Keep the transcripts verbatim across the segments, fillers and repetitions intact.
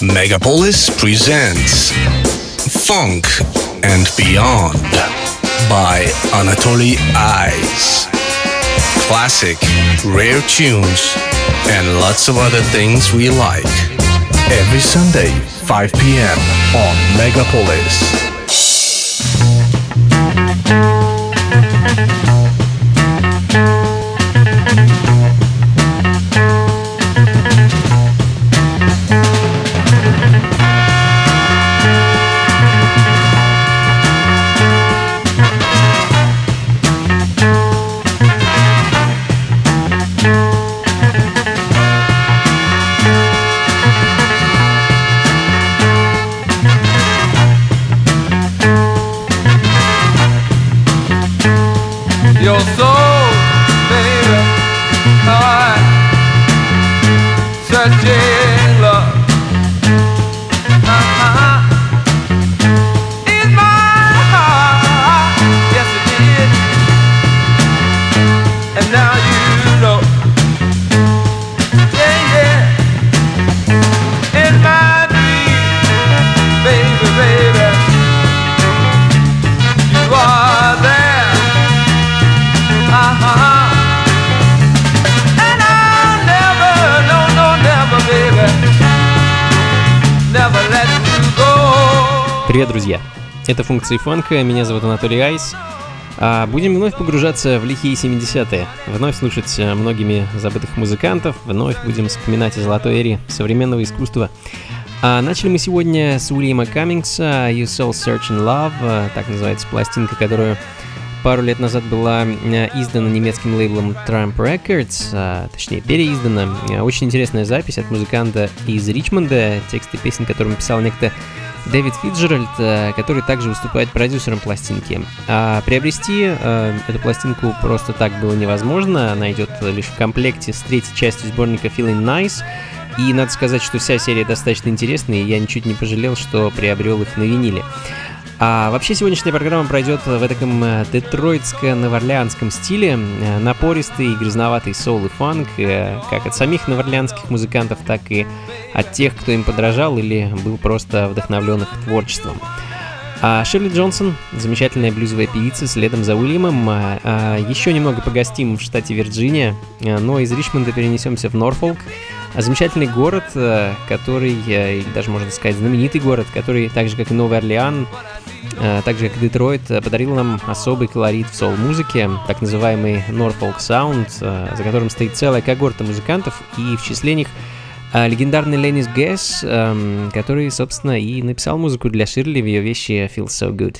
Megapolis presents Funk and Beyond by Anatoly Ice. Classic, rare tunes, and lots of other things we like. Every Sunday, five p.m. on Megapolis. Your soul, baby, I searching love. Uh-huh. In my heart, yes it did. And now you know, yeah, yeah. In my dream, baby, baby, you are there. Uh-huh. And I'll never, no, no, never, baby, never let you go. Привет, друзья! Это функции фанка, меня зовут Анатолий Айс. А будем вновь погружаться в лихие семидесятые, вновь слушать многими забытых музыкантов, вновь будем вспоминать о золотой эре современного искусства. А начали мы сегодня с Уильяма Каммингса «You Soul Searching Love», так называется пластинка, которую пару лет назад была издана немецким лейблом Tramp Records, а, точнее переиздана. Очень интересная запись от музыканта из Ричмонда, тексты песен, которым писал некто Дэвид Фитджеральд, который также выступает продюсером пластинки. А приобрести а, эту пластинку просто так было невозможно, она идет лишь в комплекте с третьей частью сборника Feeling Nice. И надо сказать, что вся серия достаточно интересная, и я ничуть не пожалел, что приобрел их на виниле. А вообще сегодняшняя программа пройдет в таком детройтско-новоорлеанском стиле, напористый и грязноватый соул и фанк, как от самих новоорлеанских музыкантов, так и от тех, кто им подражал или был просто вдохновлен их творчеством. А Ширли Джонсон, замечательная блюзовая певица, следом за Уильямом. А еще немного погостим в штате Вирджиния, но из Ричмонда перенесемся в Норфолк. Замечательный город, который, или даже можно сказать знаменитый город, который, так же как и Новый Орлеан, так же как и Детройт, подарил нам особый колорит в соул-музыке, так называемый Norfolk Sound, за которым стоит целая когорта музыкантов, и в числе них легендарный Ленис Гэс, который, собственно, и написал музыку для Ширли в ее вещи «Feels So Good».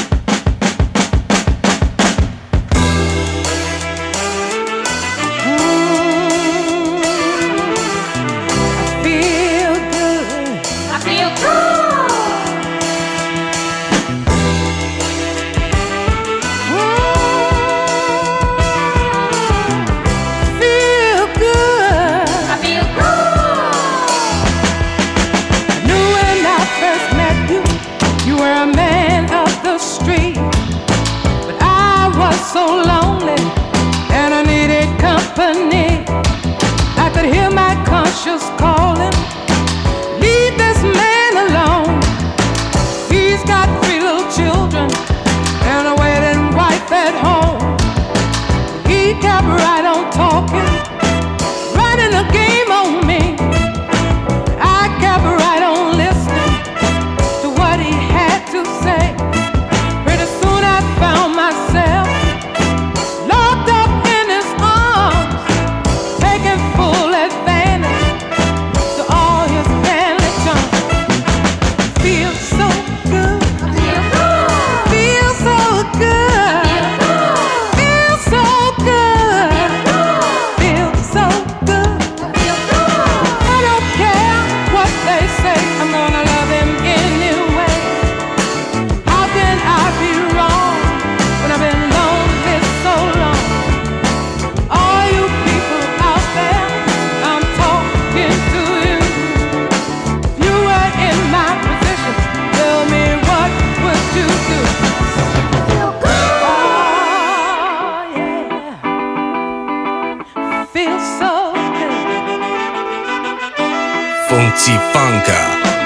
So lonely, and I needed company. I could hear my conscience calling, leave this man alone. He's got three little children and a waiting wife at home. He kept right on talking, running a game on me. I kept right on listening to what he had to say. Pretty soon I found myself Funky Funka.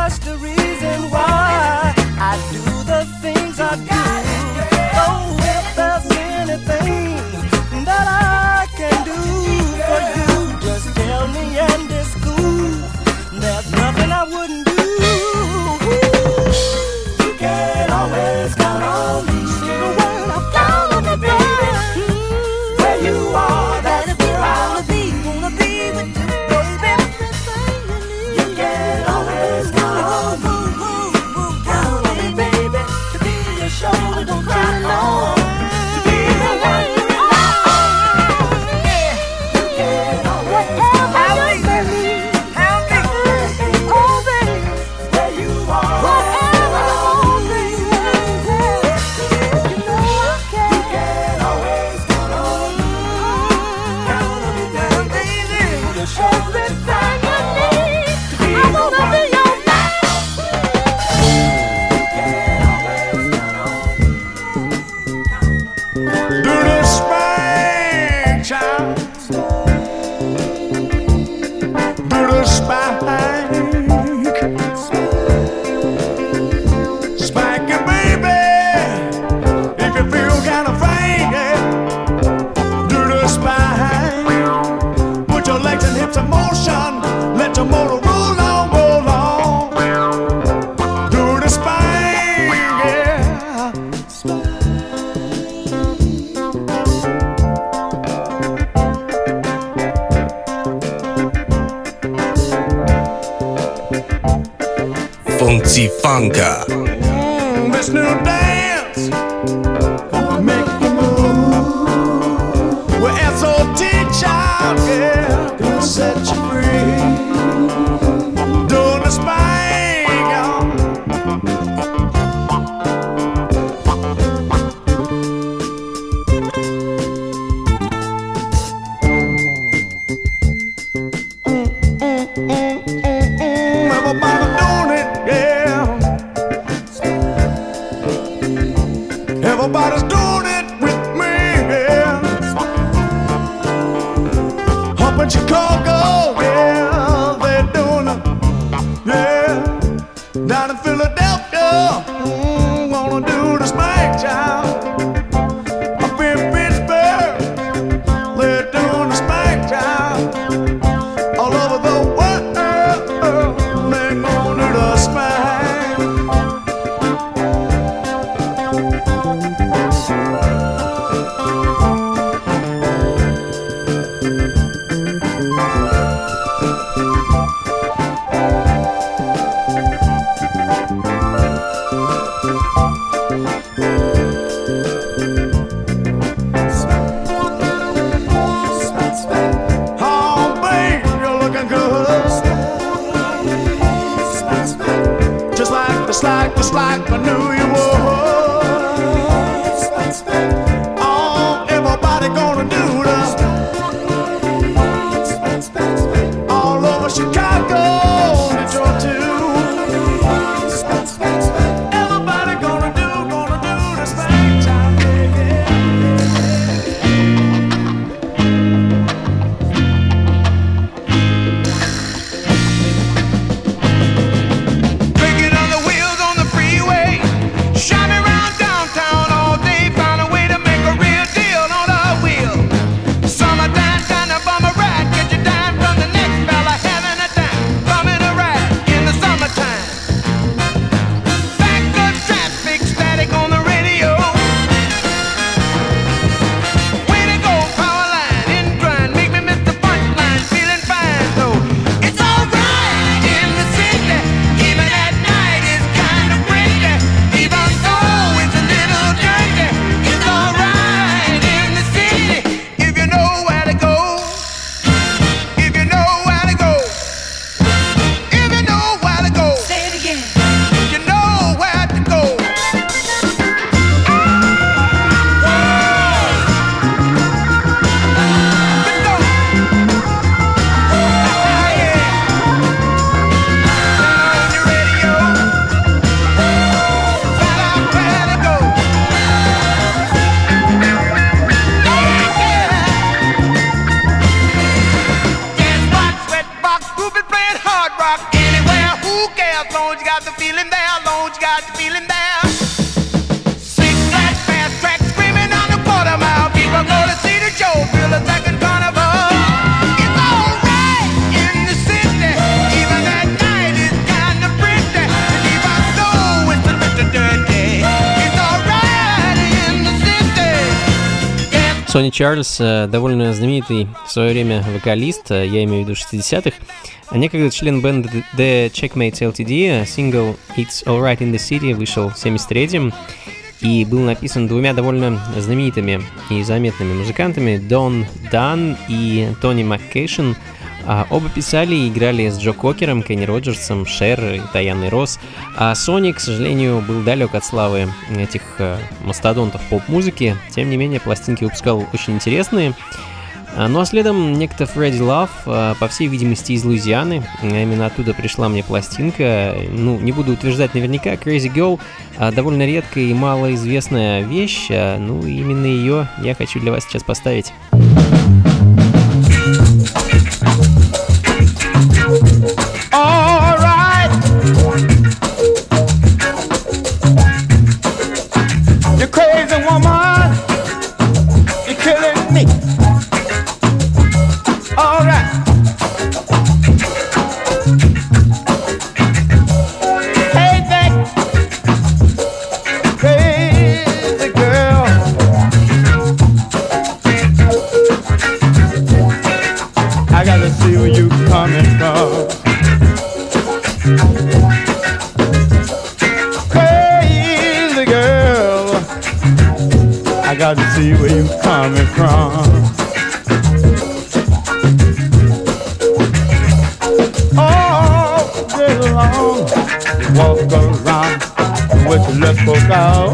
that's the reason why I do the things I do. Oh, if there's anything that I can do for you, just tell me and it's cool. There's nothing I wouldn't do. You can always count on me. Count on me, baby. Where you are, that's where I'll be. Wanna be with you, baby. You can always count on me. Count on me, baby. To be your shoulder, don't cry no. To be the one you rely on. Yeah. You can always count on me. Funky Funka. Mm, this new dance gonna make you move. We're S O T child, yeah, gonna set you free. Doing the spine, y'all. Everybody's doing it with me, yeah. Up in Chicago, yeah, they're doing it, yeah. Down in Philadelphia, mm, wanna do the spank child. Up in Pittsburgh, they're doing the spank child. All over the world, they're gonna do the spank. Just like, just like I knew you would. Oh, everybody gonna do this. All over Chicago, Detroit too. Everybody gonna do, gonna do this thing time, baby. Breaking on the wheels on the freeway. got the feeling there, Lord, you got the feeling there. Six flat fast track screaming on the quarter mile. People go to see the show, feel a second carnival. It's alright in the city, even at night it's kinda pretty. And even though it's a little dirty, it's alright in the city. Yeah. Сони Чарльз довольно знаменитый в свое время вокалист, я имею в виду шестидесятых, а некогда член бенда The Checkmates эл ти ди. Сингл It's Alright in the City вышел в семьдесят третьем и был написан двумя довольно знаменитыми и заметными музыкантами Дон Дан и Тони МакКейшен. А оба писали и играли с Джо Кокером, Кенни Роджерсом, Шер и Таяной Росс. А Сони, к сожалению, был далек от славы этих э, мастодонтов поп-музыки. Тем не менее, пластинки выпускал очень интересные. А, ну а следом некто Фредди Лав, э, по всей видимости, из Луизианы. Именно оттуда пришла мне пластинка. Ну, не буду утверждать наверняка. Crazy Girl э, довольно редкая и малоизвестная вещь. Э, ну, именно ее я хочу для вас сейчас поставить. All right. You crazy woman, you're killing me. All right. Hey, that crazy girl. I gotta see where you coming from. Crazy girl, I got to see where you coming from. All day long, you walk around with your left foot out.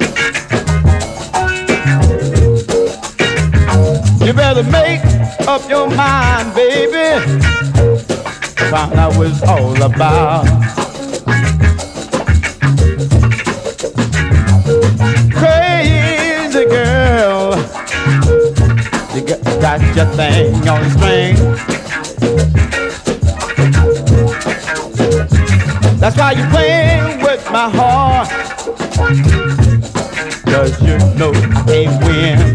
You better make up your mind, baby. Find out what it's all about. Crazy girl, you got, got your thing on the string. That's why you're playing with my heart, 'cause you know I can't win.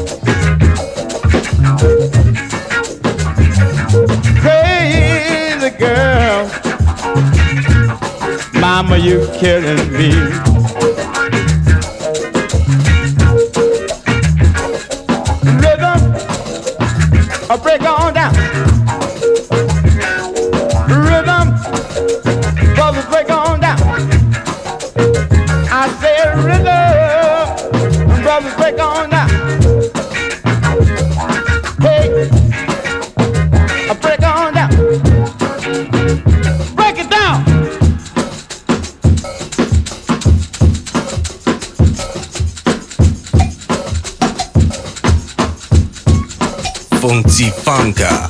Crazy girl, mama, you killing me. Rhythm, a break on down. Rhythm, brothers, break on down. I said rhythm, brothers, break on down. Hey. Break on down. Break it down. Funky Funka.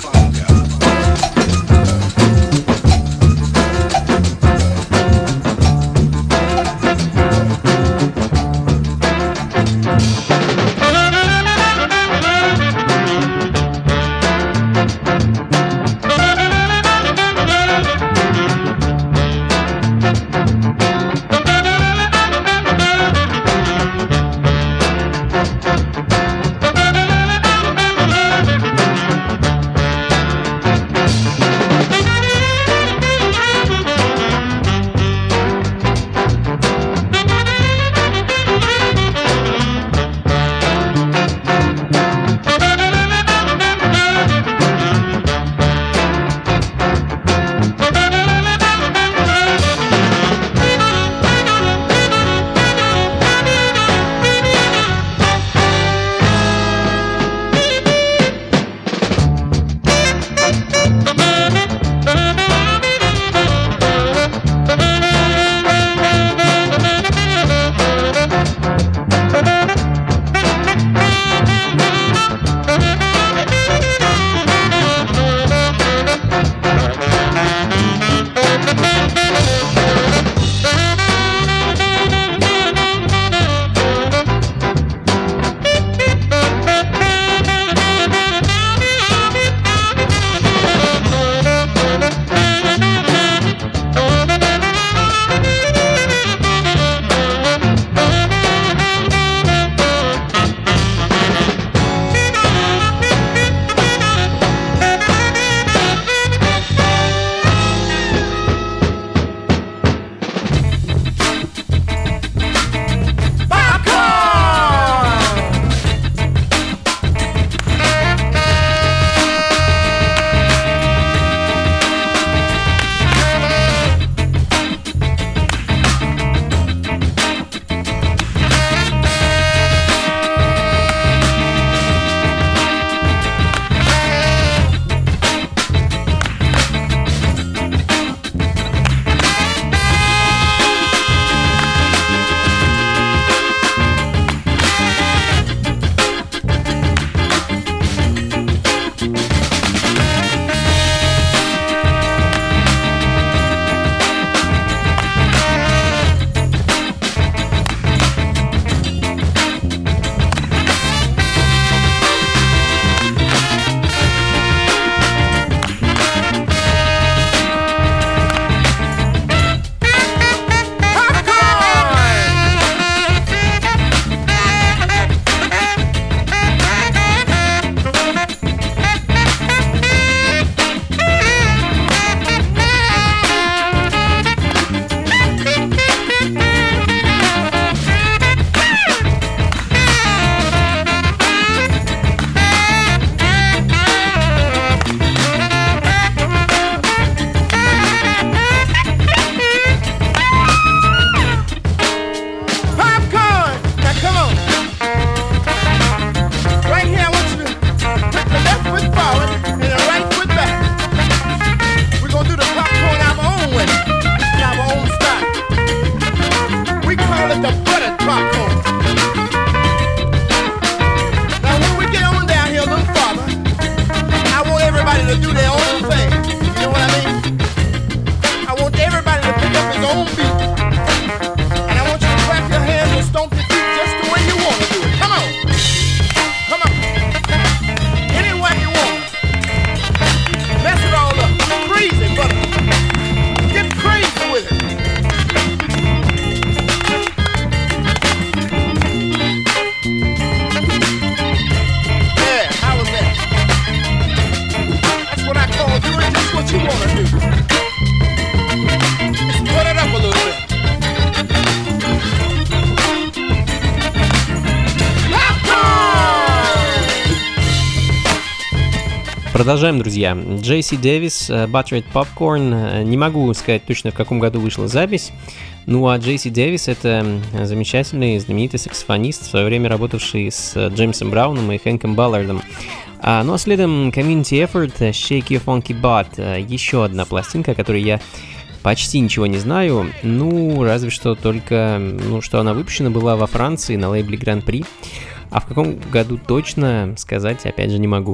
Продолжаем, друзья. Джей Си Дэвис, Buttered Popcorn. Не могу сказать точно, в каком году вышла запись. Ну а Джей Си Дэвис — это замечательный, знаменитый саксофонист, в свое время работавший с Джеймсом Брауном и Хэнком Баллардом. А, ну а следом Community Effort, Shake Your Funky Butt. Еще одна пластинка, о которой я почти ничего не знаю. Ну, разве что только, ну, что она выпущена была во Франции на лейбле Grand Prix. А в каком году точно сказать, опять же, не могу.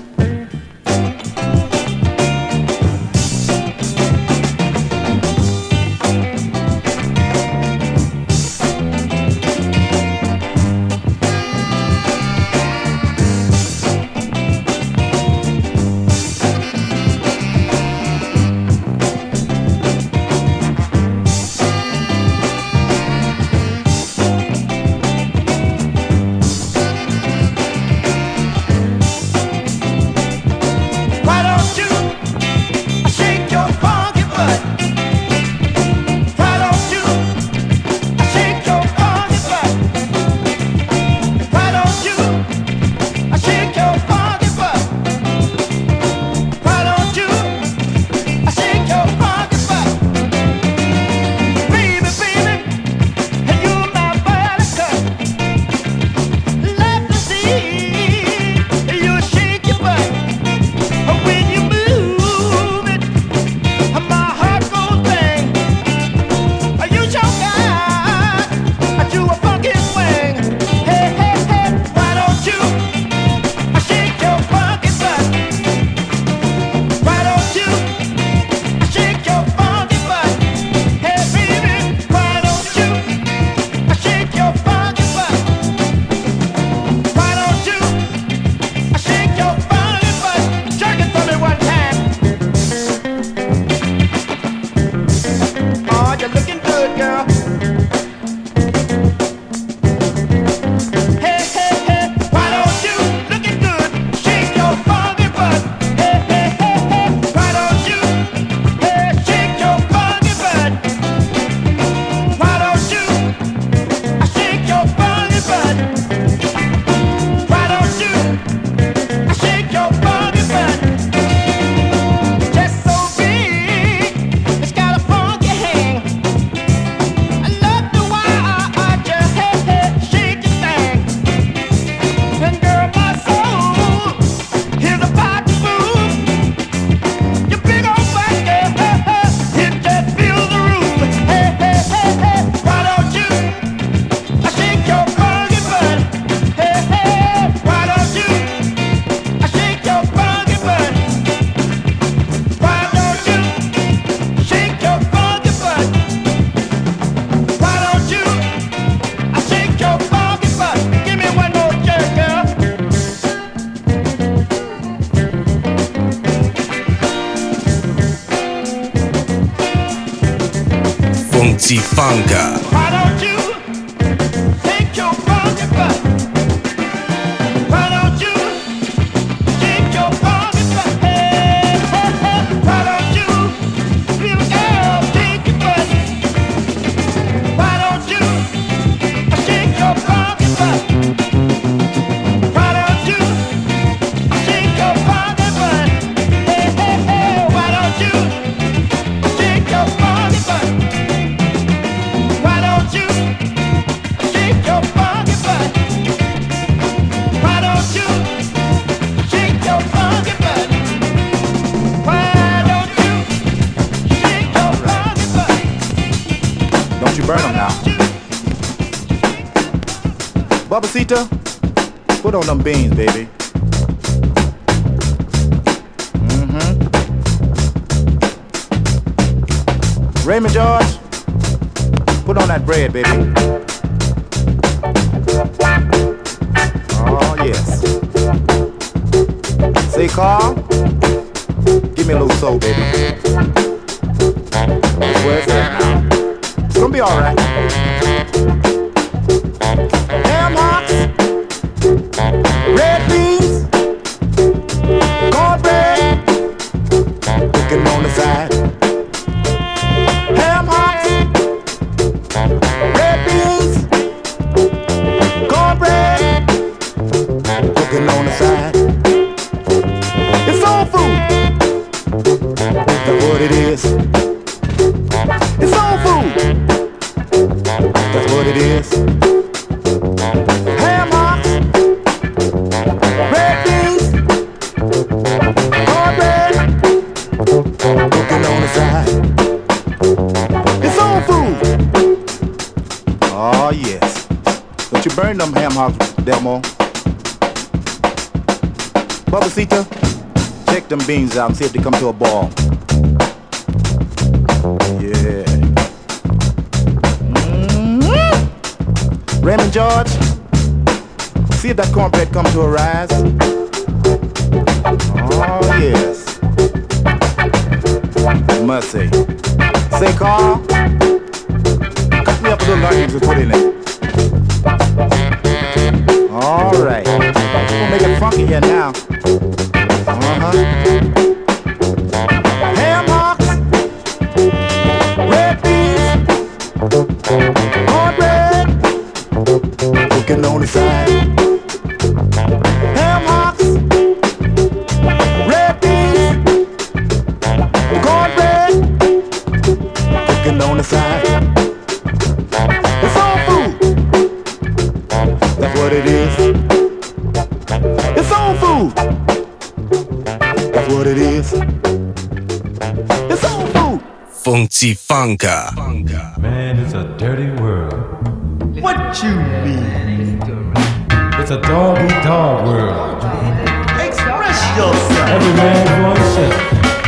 Funky-Funka. Babacita, put on them beans, baby. Mm-hmm. Raymond George, put on that bread, baby. Oh, yes. Say, Carl, give me a little soul, baby. Where's that now? It's gonna be all right. Ham hocks, red beans, cornbread, cooking on the side. Ham hocks, red beans, cornbread, cooking on the side. It's so it is. Ham hocks, red beans, cornbread, cooking on the side. It's soul food. Oh yes. Don't you burn them ham hocks, Delmo. Babacita, check them beans out and see if they come to a ball. Yeah. Mm-hmm. Raymond George, see if that cornbread comes to a rise. Oh yes. Must say. Say Carl, cut me up a little onions and put in it. All right. We'll make it funky here now. Uh-huh. Ham hocks, red beans, cornbread, cooking on the side. Ham hocks, red beans, cornbread, cooking on the side. It's all food. That's what it is. It's soul food. That's what it is. It's soul food. Funky Funka. Man, it's a dirty world. What you mean? It's a dog-eat-dog world. Express yourself. Every man for himself.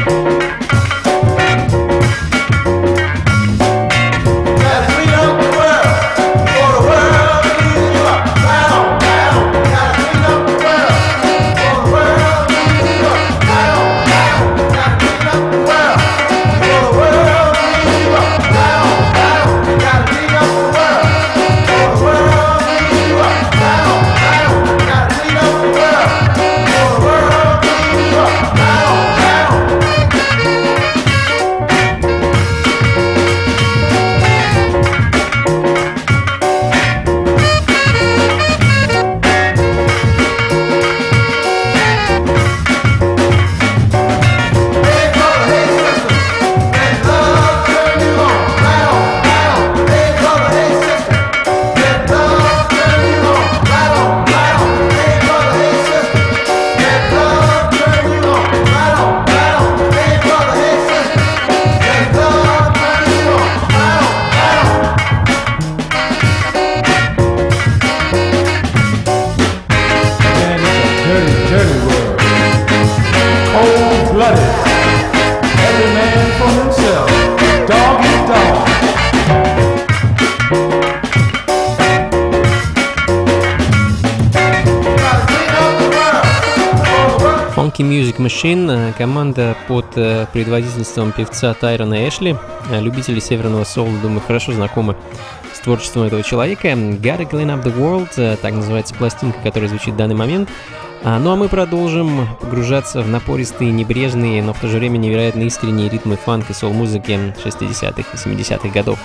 Music Machine, команда под предводительством певца Тайрона Эшли. Любители северного соула, думаю, хорошо знакомы с творчеством этого человека. Gotta Clean Up the World, так называется пластинка, которая звучит в данный момент. Ну а мы продолжим погружаться в напористые, небрежные, но в то же время невероятно искренние ритмы фанк и соул-музыки шестидесятых и семидесятых годов.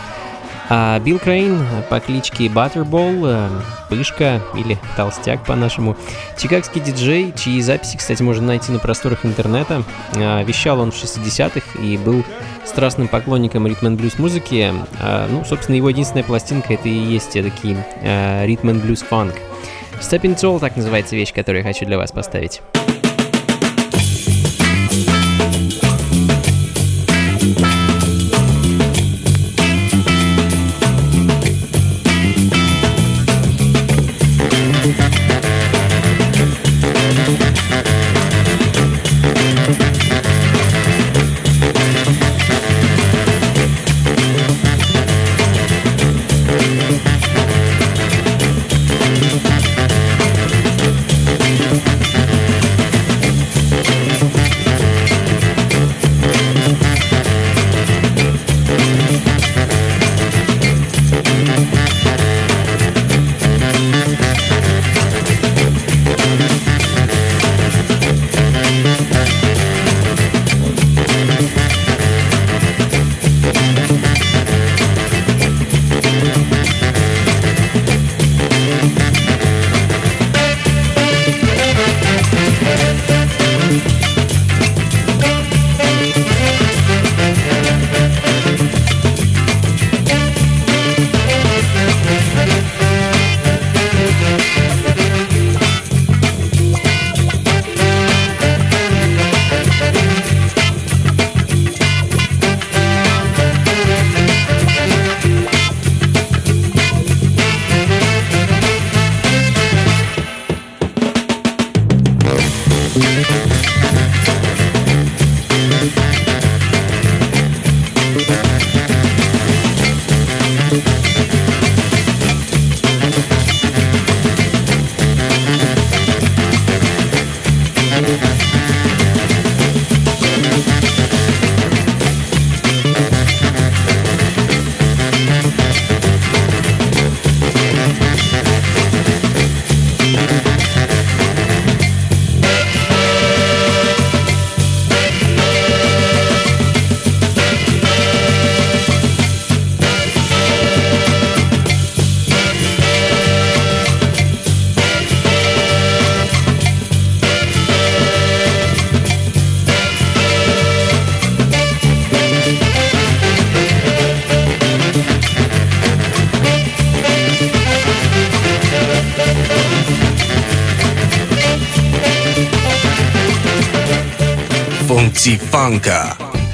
А Билл Крейн по кличке Butterball, Пышка или Толстяк по-нашему, чикагский диджей, чьи записи, кстати, можно найти на просторах интернета. Вещал он в шестидесятых и был страстным поклонником ритм-н-блюз музыки. Ну, собственно, его единственная пластинка — это и есть такие ритм-н-блюз фанк. Stepping Tall — так называется вещь, которую я хочу для вас поставить. Funky Funka.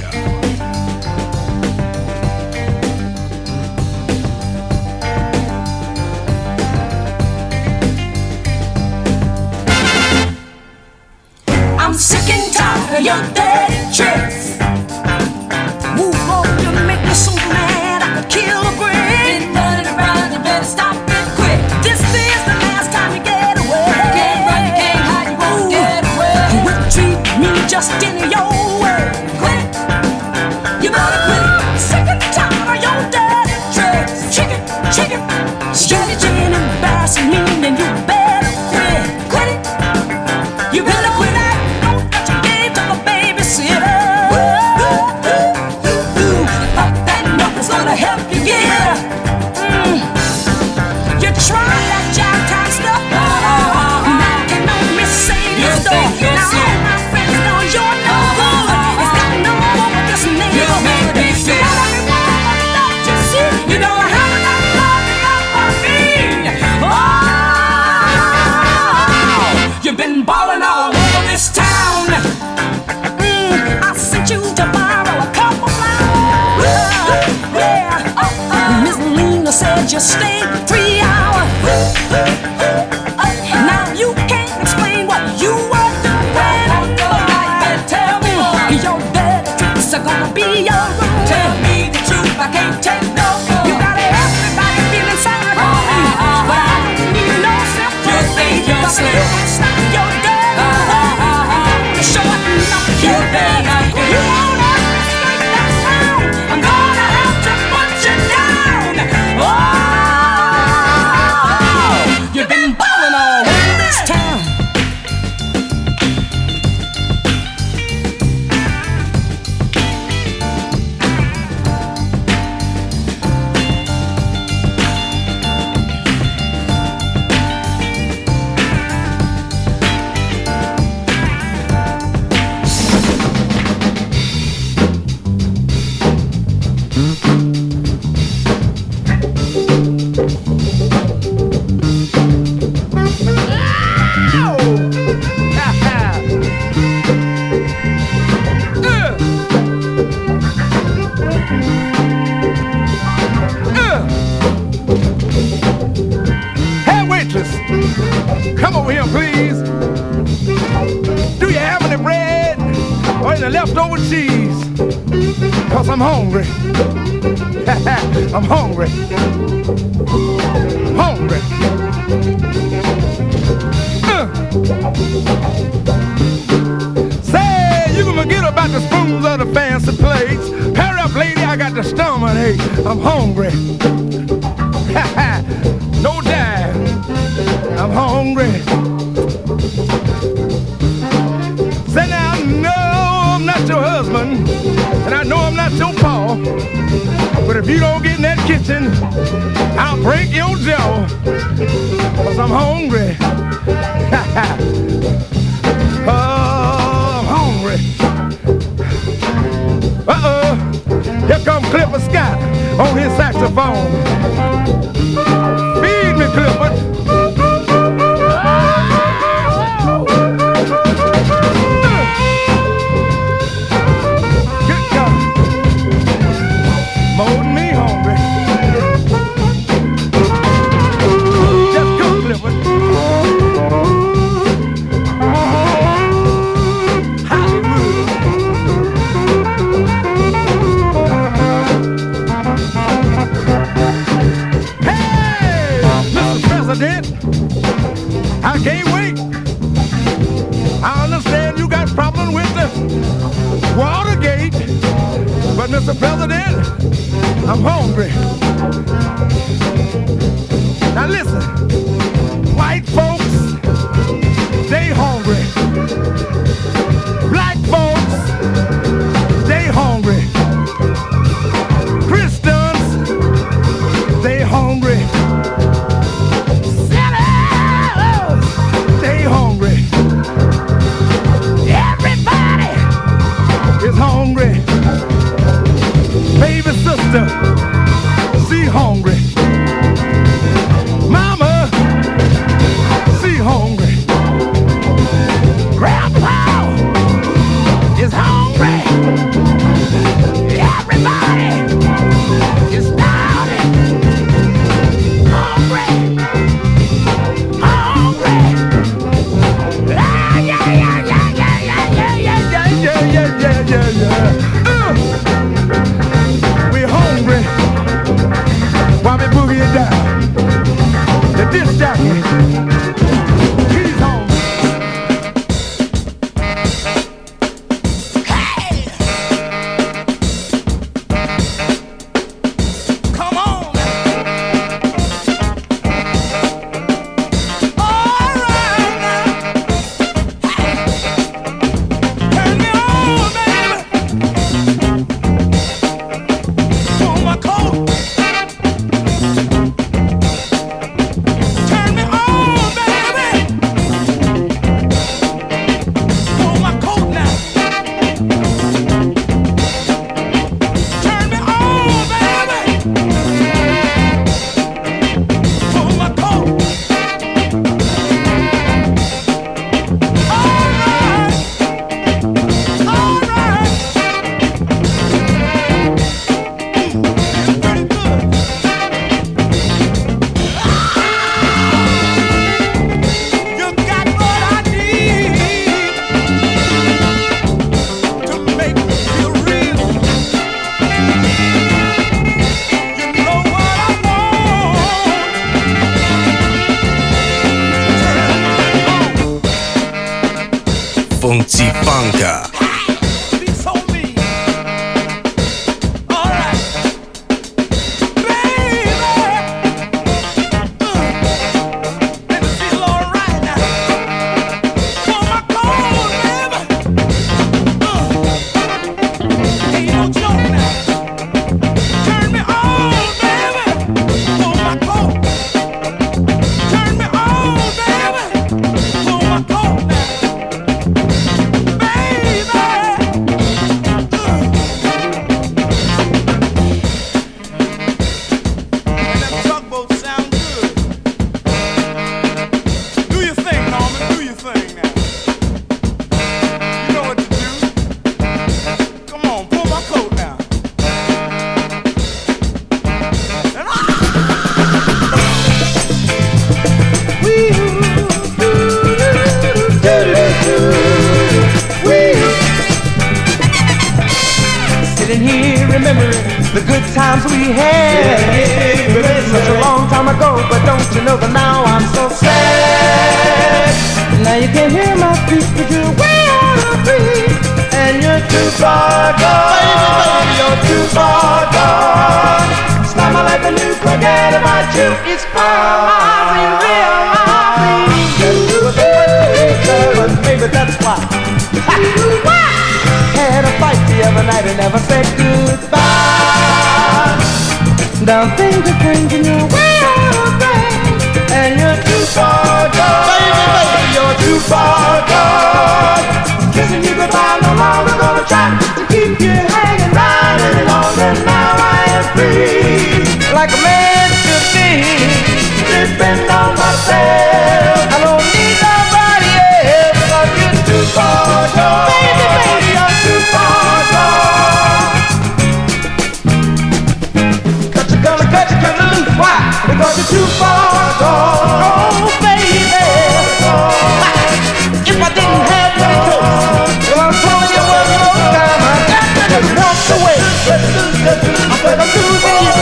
I'm sick and tired of your dirty tricks. Move on, you make me so mad I could kill a brick. Been running around, you better stop it quick. This is the last time you get away. You can't run, you can't hide, you won't get away. You would treat me just in your way. Quit it, you better quit it. Sick and tired of your dirty tricks. Chicken, chicken, strategy and embarrassing me, then you better quit. Quit it, you better quit it. Help you get mm. You try that job time stuff. Now can no miss say this stuff. Now all my friends know you're no good. It's got no more with this neighborhood. You got everyone that you see. You don't have enough love enough for me. Oh, you've been balling all over this town. mm. I sent you to borrow a couple flowers. Miss Lena said you stayed three hours. Now you can't explain what you were doing. Tell me your dirty tricks are gonna be your ruin. Tell me the truth, I can't take no more. You got everybody feeling sorry for me, but I don't need no sympathy. You think you're slick? Stop your dirty work. Shorten up your bed. You won't ever escape that sound. I'm gonna have to put you down. Oh, you've been balling all over this town. Come over here, please. Do you have any bread or any leftover cheese? Cause I'm hungry. I'm hungry. Hungry. Uh. Say, you can forget about the spoons or the fancy plates. Hurry up, lady, I got the stomach ache. I'm hungry. No time. I'm hungry. Say now, no, I'm not your husband, and I know I'm not your pa. But if you don't get in that kitchen, I'll break your jaw. Cause I'm hungry. Oh, I'm hungry. Uh-oh. Here comes Clifford Scott on his saxophone. Feed me, Clifford. I can't wait. I understand you got problems with the Watergate, but Mister President, I'm hungry. Now listen, white folks, they hungry. Black folks, they hungry. Christians, they hungry. Hungry. Everybody is hungry. Baby sister, she hungry. Mama, she hungry. Grandpa is hungry. Funky Funka. The good times we had, yeah, yeah, such a long time ago. But don't you know that now I'm so sad. Now you can hear my feet, but you're way out of reach, and you're too far gone. You're too far gone. Start my life and you forget about you. It's fine, realize. But maybe that's why. Had a fight the other night and never said goodbye. Now things are changing, you're way out of range, and you're too far gone. Baby, baby, you're too far gone. Kissing you goodbye, no longer gonna try to keep you hanging round any longer. Now I am free, like a man should be. Depend on myself, I don't need nobody else. 'Cause you're too far gone. Baby, baby, you're too far gone. Cut you gonna cut you gonna lose. Why? Because you're too far gone. Oh, baby. If I didn't have any choice, well, I'm telling you one more time, I got to walk away. I said I'm losing you.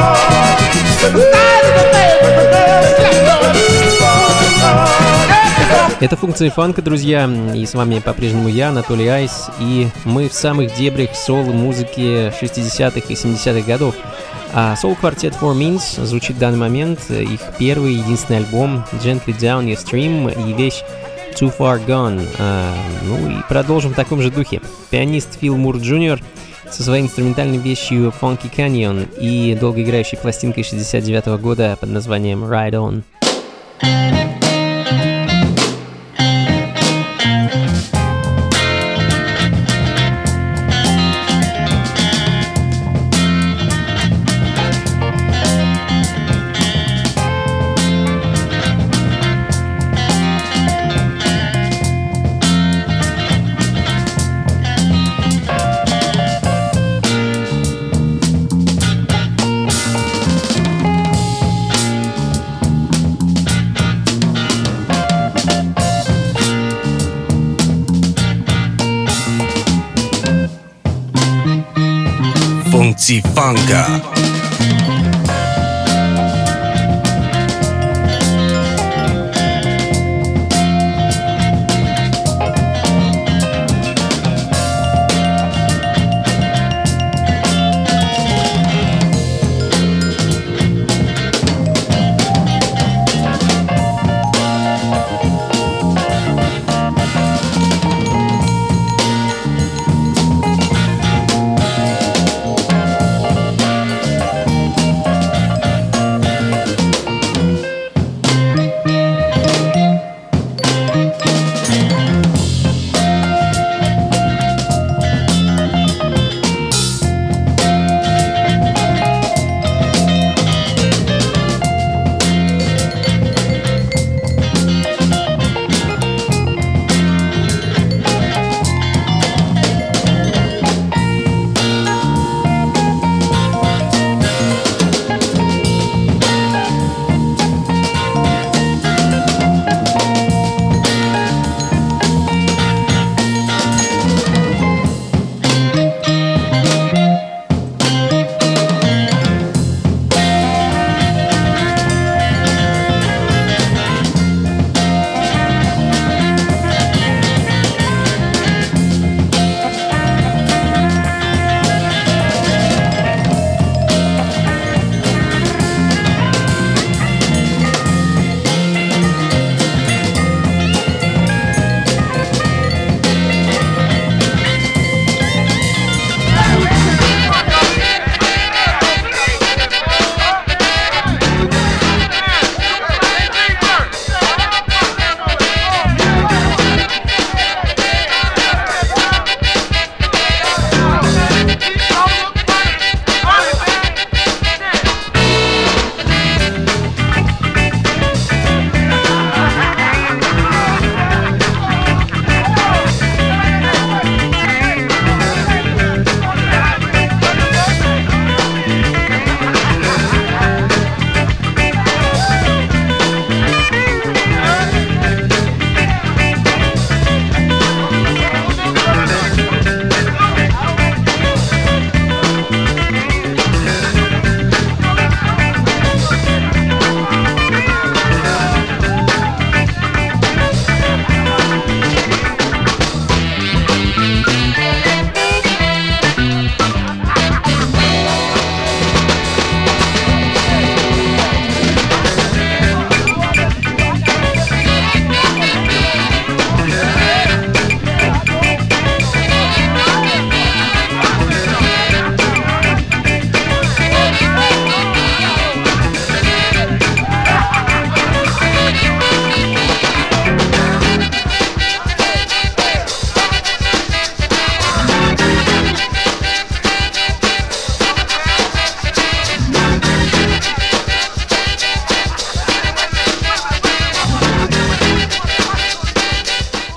Это функции фанка, друзья, и с вами по-прежнему я, Анатолий Айс, и мы в самых дебрях соул-музыки шестидесятых и семидесятых годов. А Soul Quartet Four Means звучит в данный момент, их первый и единственный альбом Gently Down Your Stream и вещь Too Far Gone. А, ну и продолжим в таком же духе. Пианист Фил Мур Джуниор со своей инструментальной вещью Funky Canyon и долгоиграющей пластинкой шестьдесят девятого года под названием Ride On. Funky Funka.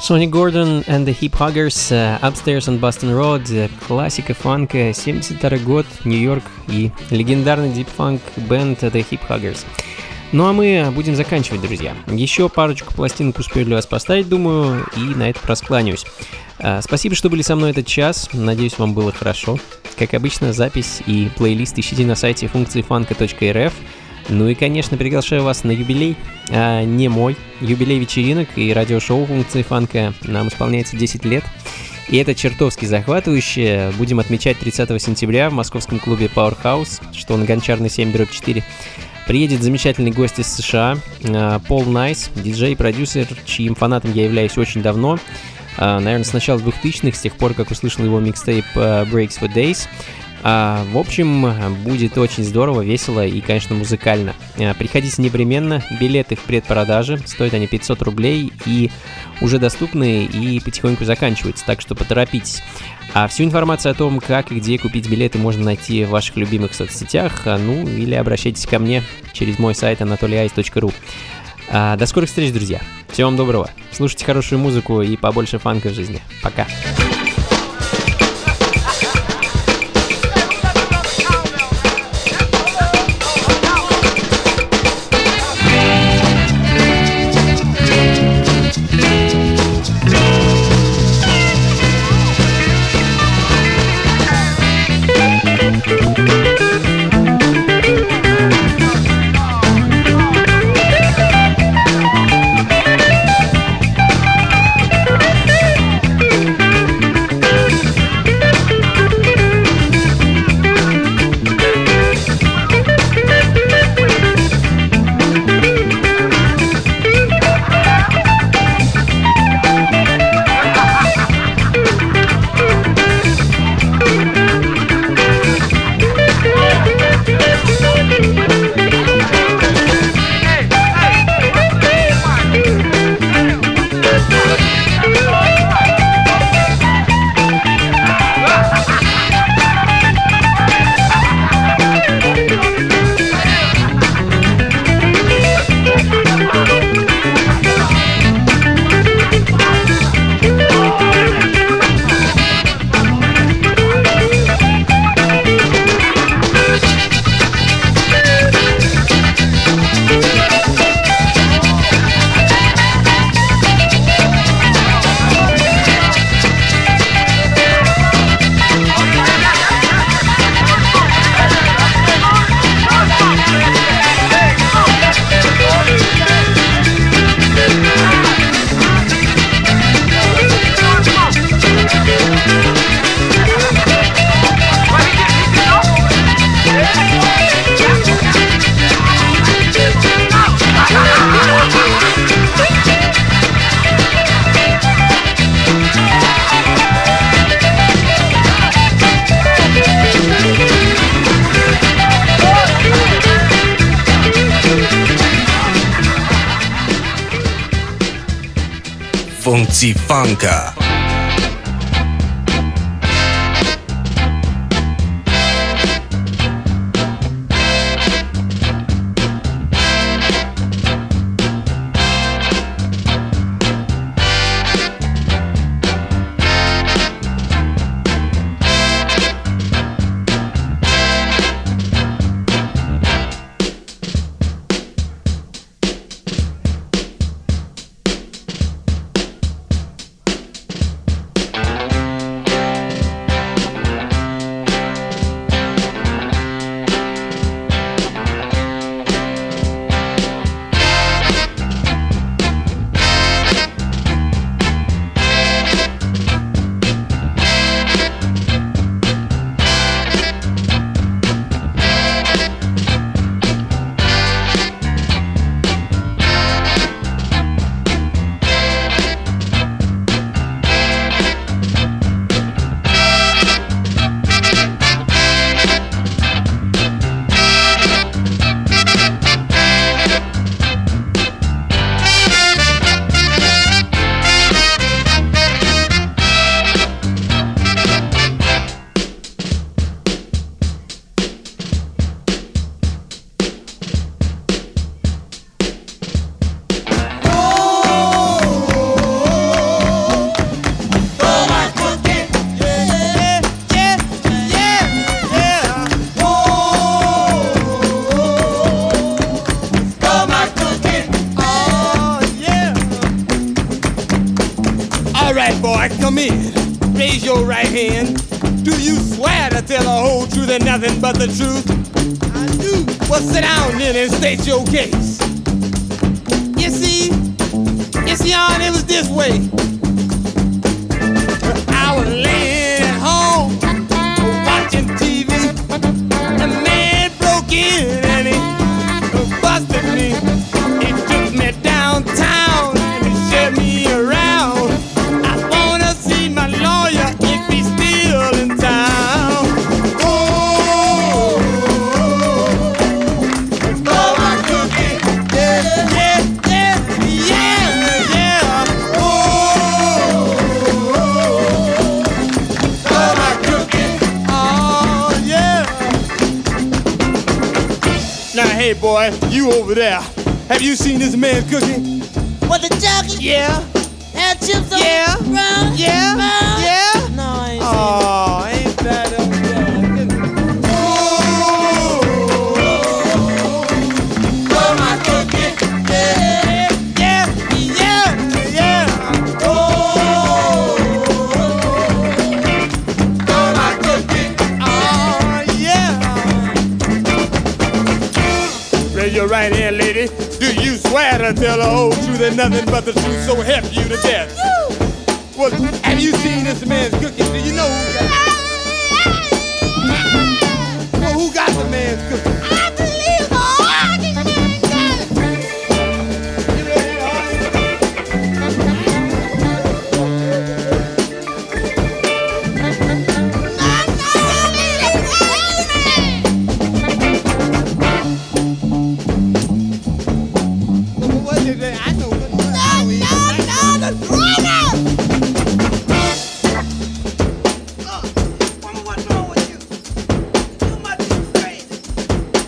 Sonny Gordon and the Hip Huggers, uh, Upstairs on Boston Road, классика фанка, семьдесят второй год, Нью-Йорк и легендарный дип-фанк бенд The Hip Huggers. Ну а мы будем заканчивать, друзья. Еще парочку пластинок успею для вас поставить, думаю, и на это раскланяюсь. Uh, спасибо, что были со мной этот час, надеюсь, вам было хорошо. Как обычно, запись и плейлист ищите на сайте функции фанка точка эр эф. Ну и, конечно, приглашаю вас на юбилей, а не мой, юбилей вечеринок и радиошоу функции фанка. Нам исполняется десять лет, и это чертовски захватывающе. Будем отмечать тридцатого сентября в московском клубе Powerhouse, что на Гончарной семь дробь четыре. Приедет замечательный гость из США, Пол Найс, диджей и продюсер, чьим фанатом я являюсь очень давно. Наверное, с начала двухтысячных, с тех пор, как услышал его микстейп Breaks for Days. А, в общем, будет очень здорово, весело и, конечно, музыкально. А, приходите непременно, билеты в предпродаже, стоят они пятьсот рублей и уже доступны и потихоньку заканчиваются, так что поторопитесь. А всю информацию о том, как и где купить билеты, можно найти в ваших любимых соцсетях, ну или обращайтесь ко мне через мой сайт анатолий айс точка ру. А, до скорых встреч, друзья. Всего вам доброго. Слушайте хорошую музыку и побольше фанка в жизни. Пока. Funky Funka. Gentlemen, raise your right hand. Do you swear to tell the whole truth and nothing but the truth? I do. Well, sit down then and state your case. You see, you see, on it was this way. I was laying at home watching T V. A man broke in and he busted me. He took me downtown and he showed me around. I wanna see my lawyer if he's still in town. Oh, oh my cookie, yeah, yeah, yeah, yeah, yeah. Oh, oh my cookie, oh yeah. Now hey boy, you over there, have you seen this man cooking? What, the chocolate? Yeah, And chips on yeah, the brown? yeah, Brown? yeah. No, I ain't Oh, ain't that a oh my cookie, yeah, yeah, yeah, yeah. Oh, oh my cookie, oh yeah. Raise your right hand, lady. Do you swear to tell the whole truth and nothing but the truth, so help you to death? Well, have you seen this man's cooking? Do you know who got it? Well, who got the man's cooking? I believe all these men got it. You ready, honey? Well, what is it? I know. No, no, no, the runner! Woman, what's wrong with you? Too much is crazy.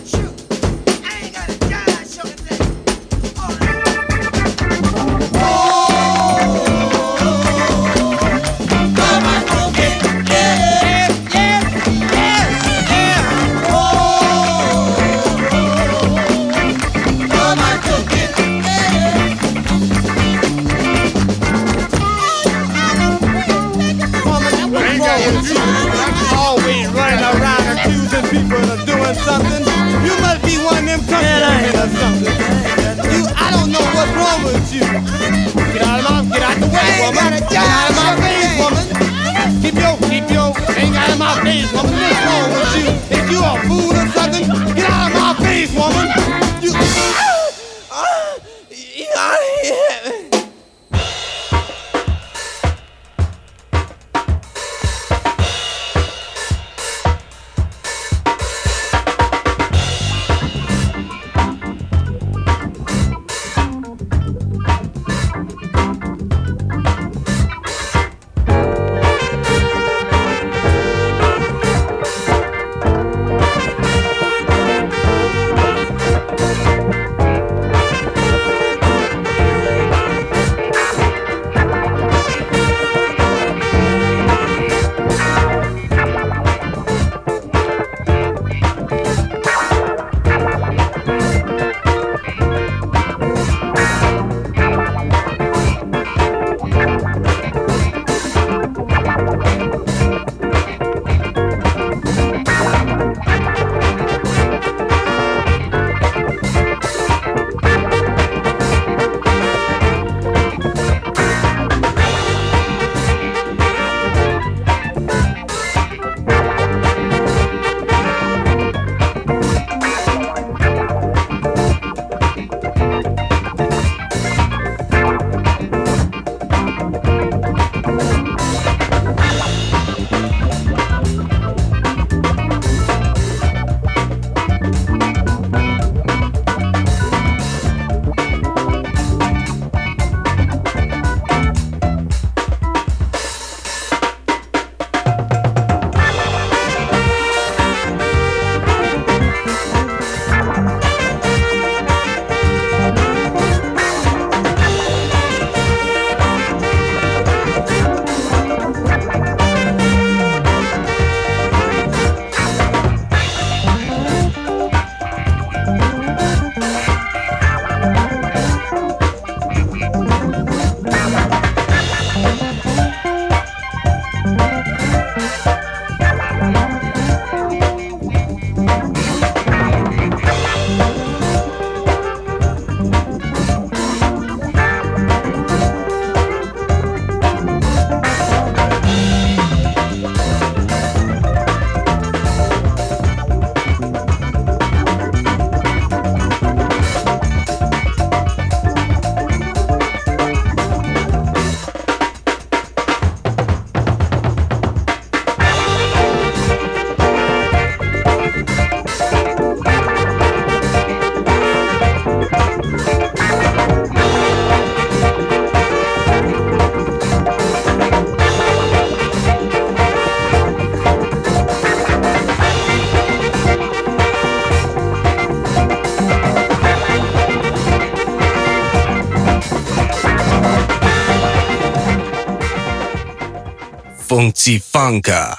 Funky Funka.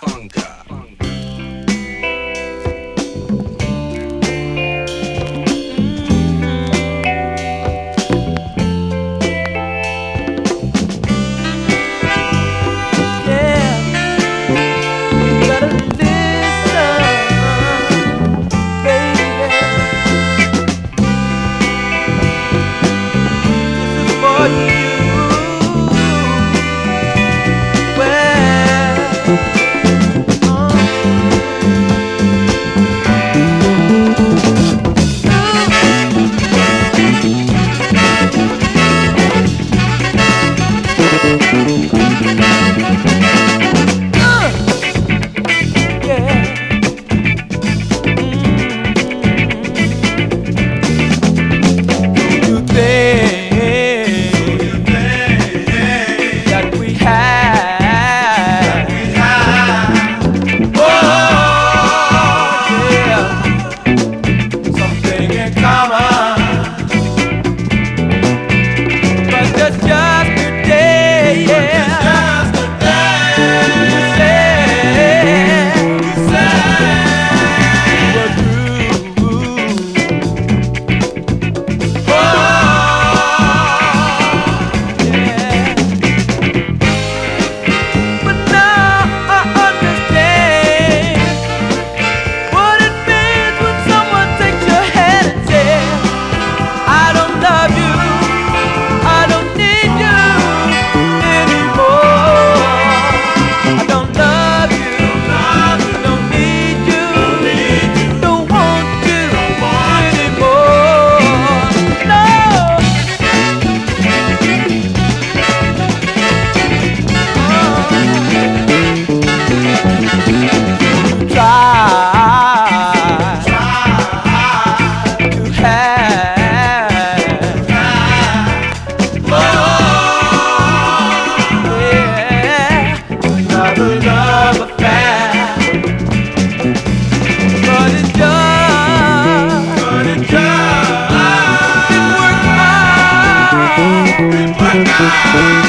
Bye.